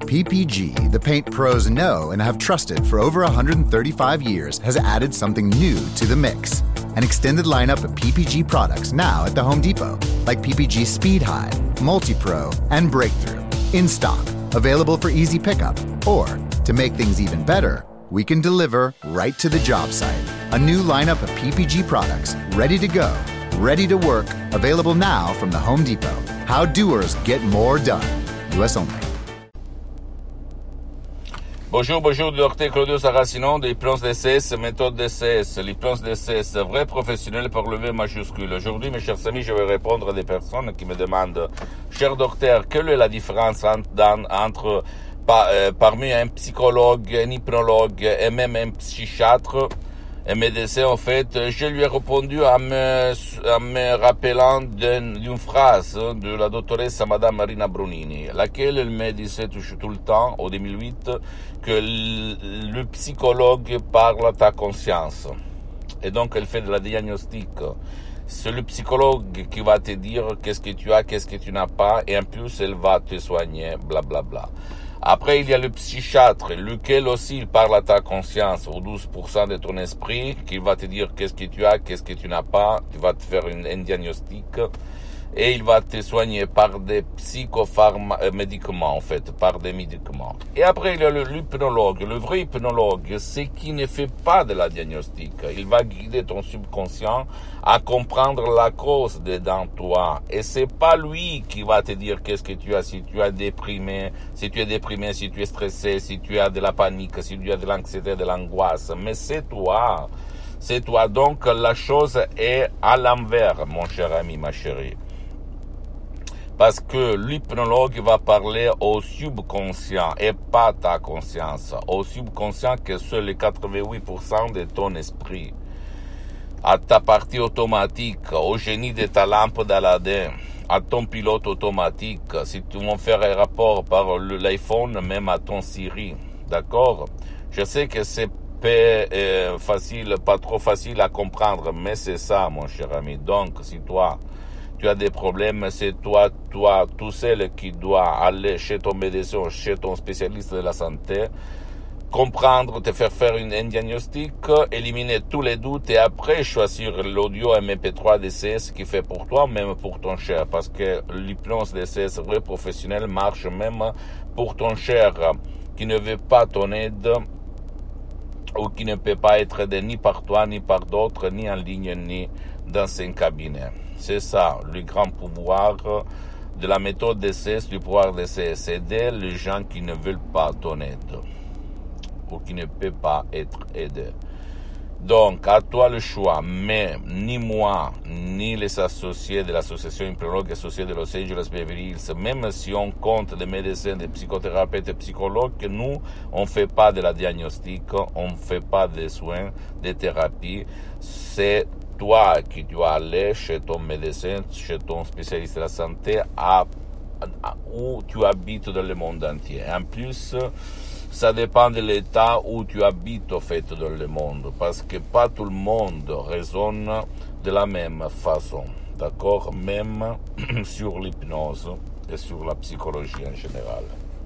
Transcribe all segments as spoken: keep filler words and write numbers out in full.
P P G, the paint pros know and have trusted for over one hundred thirty-five years, has added something new to the mix. An extended lineup of P P G products now at the Home Depot, like P P G Speed High, Multi-Pro, and Breakthrough. In stock, available for easy pickup, or, to make things even better, we can deliver right to the job site. A new lineup of P P G products, ready to go, ready to work, available now from the Home Depot. How doers get more done. U S only. Bonjour, bonjour, docteur Claudio Saracino de l'hypnose D C S, méthode D C S, l'hypnose D C S, vrai professionnel par le V majuscule. Aujourd'hui, mes chers amis, je vais répondre à des personnes qui me demandent, cher docteur, quelle est la différence entre, dans, entre par, euh, parmi un psychologue, un hypnologue et même un psychiatre, un médecin, en fait. Je lui ai répondu en me, en me rappelant d'une, d'une phrase de la doctoresse Madame Marina Brunini, laquelle elle me disait tout, tout le temps, au deux mille huit, que le, le psychologue parle à ta conscience. Et donc, elle fait de la diagnostic. C'est le psychologue qui va te dire qu'est-ce que tu as, qu'est-ce que tu n'as pas, et en plus, elle va te soigner, blablabla. Bla, bla. Après, il y a le psychiatre, lequel aussi il parle à ta conscience, aux douze pour cent de ton esprit, qui va te dire qu'est-ce que tu as, qu'est-ce que tu n'as pas, tu vas te faire une, un diagnostic, et il va te soigner par des psychopharmaceutiques, en fait, par des médicaments. Et après, il y a le, l'hypnologue. Le vrai hypnologue, c'est qui ne fait pas de la diagnostic. Il va guider ton subconscient à comprendre la cause dedans toi. Et c'est pas lui qui va te dire qu'est-ce que tu as, si tu es déprimé, si tu es déprimé, si tu es stressé, si tu as de la panique, si tu as de l'anxiété, de l'angoisse. Mais c'est toi. C'est toi. Donc, la chose est à l'envers, mon cher ami, ma chérie. Parce que l'hypnologue va parler au subconscient et pas ta conscience. Au subconscient que c'est les quatre-vingt-huit pour cent de ton esprit. À ta partie automatique, au génie de ta lampe d'Aladin, à ton pilote automatique, si tu veux faire un rapport par l'iPhone, même à ton Siri. D'accord? Je sais que c'est pas euh, facile, pas trop facile à comprendre, mais c'est ça, mon cher ami. Donc, si toi, tu as des problèmes, c'est toi, toi, tout seul qui dois aller chez ton médecin, chez ton spécialiste de la santé, comprendre, te faire faire une, un diagnostic, éliminer tous les doutes et après choisir l'audio M P trois D C S qui fait pour toi, même pour ton cher, parce que l'hypnose D C S vrai professionnel marche même pour ton cher qui ne veut pas ton aide ou qui ne peut pas être aidé ni par toi, ni par d'autres, ni en ligne, ni dans un cabinet. C'est ça, le grand pouvoir de la méthode D C S, du pouvoir D C S, aider les gens qui ne veulent pas ton aide ou qui ne peuvent pas être aidés. Donc, à toi le choix, mais ni moi, ni les associés de l'association hypnologue associée de Los Angeles Beverly Hills, même si on compte des médecins, des psychothérapeutes et psychologues, nous, on ne fait pas de la diagnostic, on ne fait pas de soins, de thérapies. C'est toi qui dois aller chez ton médecin, chez ton spécialiste de la santé, à, à, où tu habites dans le monde entier. En plus, ça dépend de l'état où tu habites, au fait, dans le monde, parce que pas tout le monde raisonne de la même façon, d'accord? Même sur l'hypnose et sur la psychologie en général.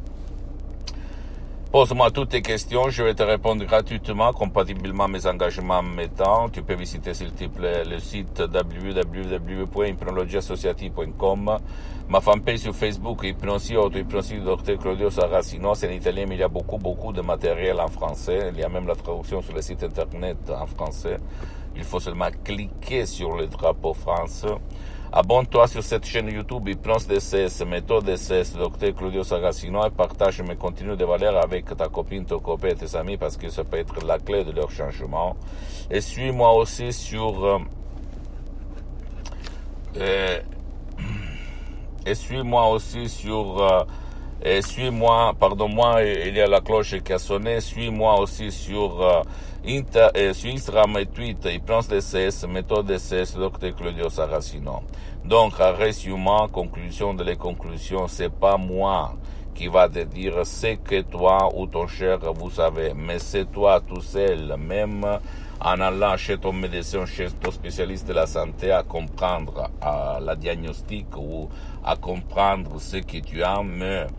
Pose-moi toutes tes questions, je vais te répondre gratuitement, compatiblement à mes engagements mettant. Tu peux visiter, s'il te plaît, le site w w w point hypnologie associative point com, ma fanpage sur Facebook, Hypnosie, auto-hypnosie du docteur Claudio Saracino. C'est en italien, mais il y a beaucoup, beaucoup de matériel en français. Il y a même la traduction sur le site internet en français. Il faut seulement cliquer sur le drapeau France. Abonne-toi sur cette chaîne YouTube Hypnose D C S, méthode D C S, docteur Claudio Saracino, et partage mes contenus de valeur avec ta copine, ton copain et tes amis parce que ça peut être la clé de leur changement. Et suis-moi aussi sur euh, euh, et suis-moi aussi sur euh, et suis-moi, pardon-moi, il y a la cloche qui a sonné, suis-moi aussi sur euh, Inter, euh, sur Instagram et Twitter, Hypnose D C S, méthode D C S, docteur Claudio Saracino. Donc, en résumant, conclusion de les conclusions, c'est pas moi qui va te dire ce que toi ou ton cher vous savez, mais c'est toi tout seul, même en allant chez ton médecin, chez ton spécialiste de la santé, à comprendre à la diagnostic ou à comprendre ce que tu as, mais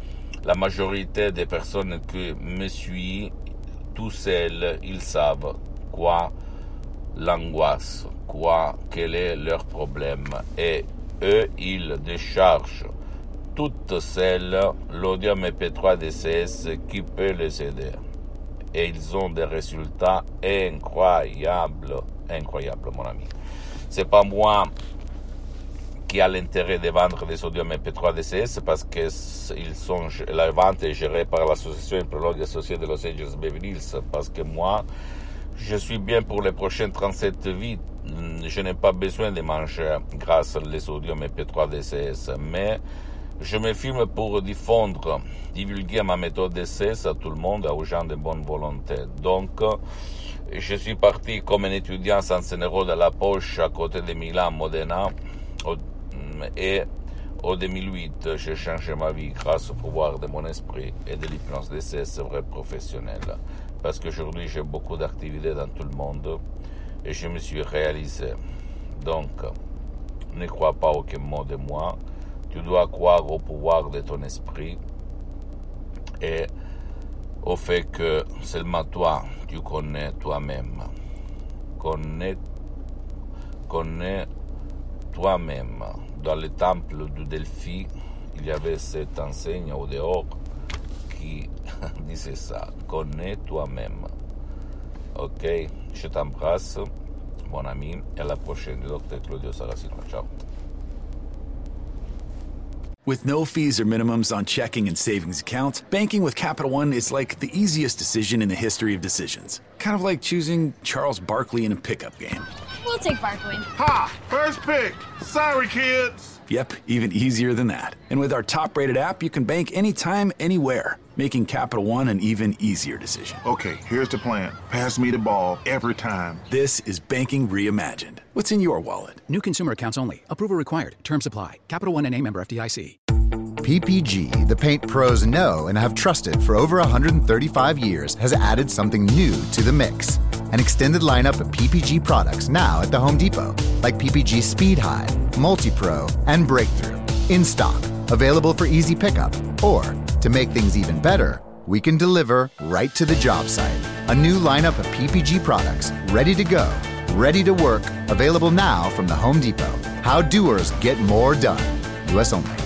la majorité des personnes qui me suivent, tout seuls, ils savent quoi l'angoisse, quoi, quel est leur problème. Et eux, ils déchargent toutes celles l'audio M P trois D C S qui peut les aider. Et ils ont des résultats incroyables, incroyables, mon ami. C'est pas moi qui a l'intérêt de vendre des audios M P trois D C S parce que ils sont, la vente est gérée par l'association Imprologue associée de Los Angeles Beverly Hills, parce que moi, je suis bien pour les prochaines trente-sept vies. Je n'ai pas besoin de manger grâce aux audios M P trois D C S, mais je me filme pour diffondre, divulguer ma méthode D C S à tout le monde, aux gens de bonne volonté. Donc, je suis parti comme un étudiant sans un euro dans la poche à côté de Milan, Modena, et en deux mille huit, j'ai changé ma vie grâce au pouvoir de mon esprit et de l'hypnose D C S vrai professionnelle. Parce qu'aujourd'hui, j'ai beaucoup d'activités dans tout le monde et je me suis réalisé. Donc, ne crois pas aucun mot de moi. Tu dois croire au pouvoir de ton esprit et au fait que seulement toi, tu connais toi-même. Connais, connais toi-même. Dans le temple du Delphi, il y avait cette enseigne au dehors qui disait ça. Connais toi-même. Ok? Je t'embrasse, mon ami, et à la prochaine, docteur Claudio Saracino. Ciao. With no fees or minimums on checking and savings accounts, banking with Capital One is like the easiest decision in the history of decisions. Kind of like choosing Charles Barkley in a pickup game. We'll take Barkley. Ha! First pick. Sorry, kids. Yep, even easier than that. And with our top-rated app, you can bank anytime, anywhere, making Capital One an even easier decision. Okay, here's the plan. Pass me the ball every time. This is banking reimagined. What's in your wallet? New consumer accounts only. Approval required. Terms apply. Capital One N A member F D I C. P P G, the paint pros know and have trusted for over one hundred thirty-five years, has added something new to the mix. An extended lineup of P P G products now at the Home Depot, like P P G Speed High, Multi-Pro, and Breakthrough. In stock, available for easy pickup. Or, to make things even better, we can deliver right to the job site. A new lineup of P P G products, ready to go, ready to work, available now from the Home Depot. How doers get more done. U S only.